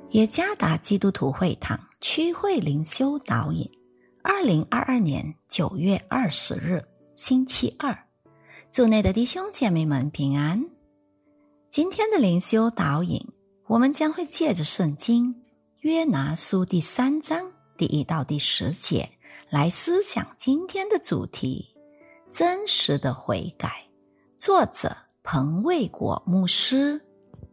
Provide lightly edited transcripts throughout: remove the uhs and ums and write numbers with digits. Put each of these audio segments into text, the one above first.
耶加达基督徒会堂区会灵修导引2022年9月20日星期二，主内的弟兄姐妹们平安。今天的灵修导引，我们将会借着圣经约拿书第3章第1到第10节来思想今天的主题：真实的悔改。作者彭卫国牧师。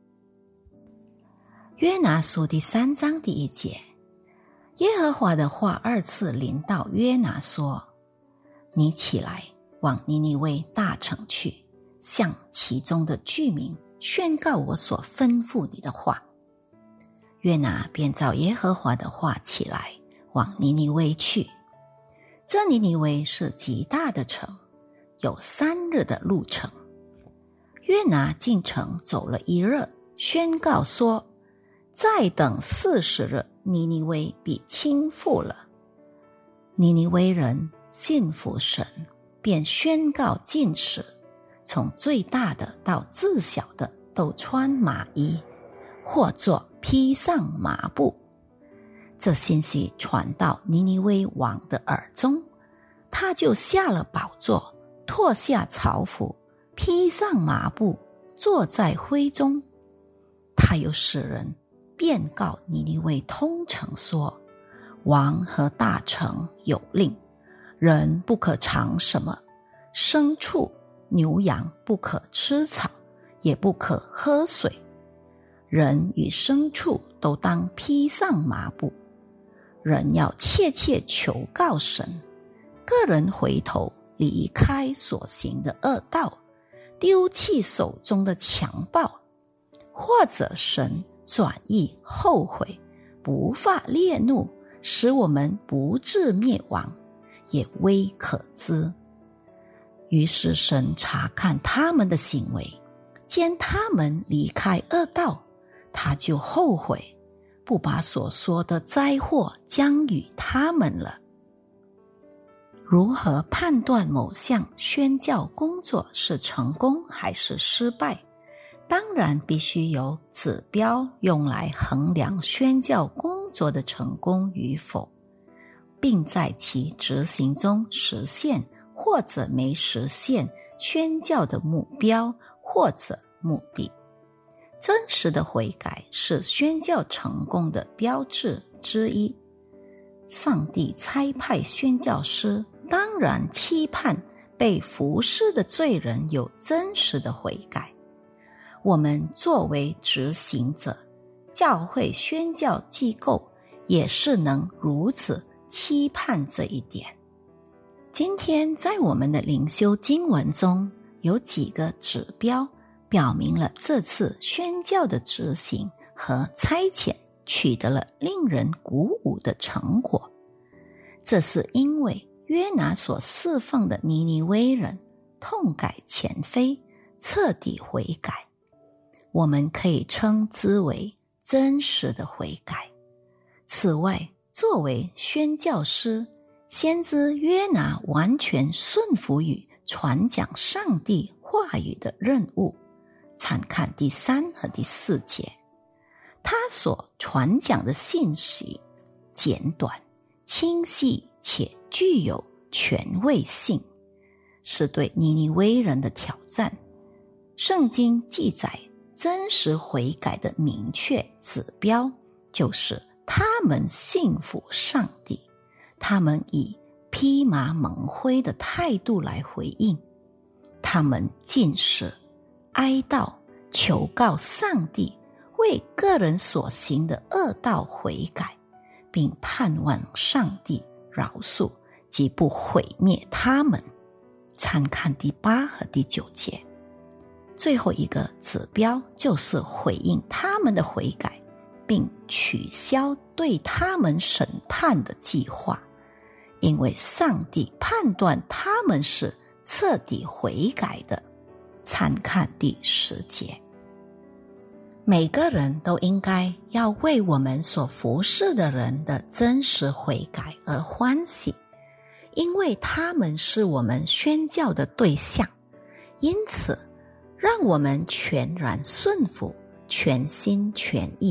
约拿书第3章第1节，耶和华的话2次临到约拿说：你起来，往尼尼微大城去，向其中的居民宣告我所吩咐你的话。约拿便照耶和华的话起来，往尼尼微去。这尼尼微是极大的城，有3日的路程。约拿进城走了1日，宣告说：再等40日，尼尼微必倾覆了。尼尼微人信服神，便宣告禁食，从最大的到最小的都穿麻衣，或作披上麻布。这信息传到尼尼微王的耳中，他就下了宝座，脱下朝服，披上麻布，坐在灰中。他又使人便告尼尼微通城说：王和大城有令，人不可尝什么，牲畜牛羊不可吃草，也不可喝水，人与牲畜都当披上麻布。人要切切求告神，个人回头离开所行的恶道，丢弃手中的强暴，或者神转意后悔，不发烈怒，使我们不致灭亡，也微可知。于是神查看他们的行为，见他们离开恶道，他就后悔，不把所说的灾祸降与他们了。如何判断某项宣教工作是成功还是失败？当然必须有指标用来衡量宣教工作的成功与否，并在其执行中实现或者没实现宣教的目标或者目的。真实的悔改是宣教成功的标志之一。上帝差派宣教师，当然期盼被服侍的罪人有真实的悔改。我们作为执行者，教会宣教机构也是能如此期盼这一点。今天在我们的灵修经文中，有几个指标表明了这次宣教的执行和差遣取得了令人鼓舞的成果。这是因为约拿所侍奉的尼尼微人痛改前非，彻底悔改。我们可以称之为真实的悔改。此外，作为宣教师，先知约拿完全顺服于传讲上帝话语的任务。参看第3和第4节，他所传讲的信息简短、清晰且具有权威性，是对尼尼微人的挑战。圣经记载真实悔改的明确指标，就是他们信服上帝，他们以披麻蒙灰的态度来回应，他们禁食、哀悼、求告上帝，为个人所行的恶道悔改，并盼望上帝饶恕及不毁灭他们。参看第8和第9节。最后一个指标就是回应他们的悔改，并取消对他们审判的计划，因为上帝判断他们是彻底悔改的。参看第10节。每个人都应该要为我们所服侍的人的真实悔改而欢喜，因为他们是我们宣教的对象。因此让我们全然顺服，全心全意，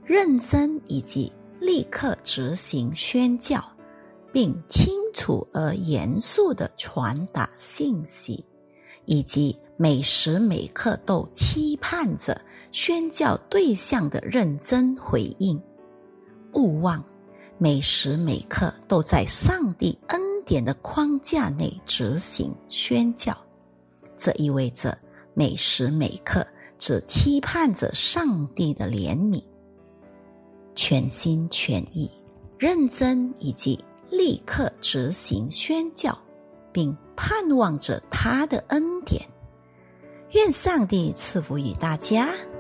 认真以及立刻执行宣教，并清楚而严肃地传达信息，以及每时每刻都期盼着宣教对象的认真回应。勿忘每时每刻都在上帝恩典的框架内执行宣教，这意味着每时每刻只期盼着上帝的怜悯，全心全意、认真以及立刻执行宣教，并盼望着他的恩典。愿上帝赐福于大家。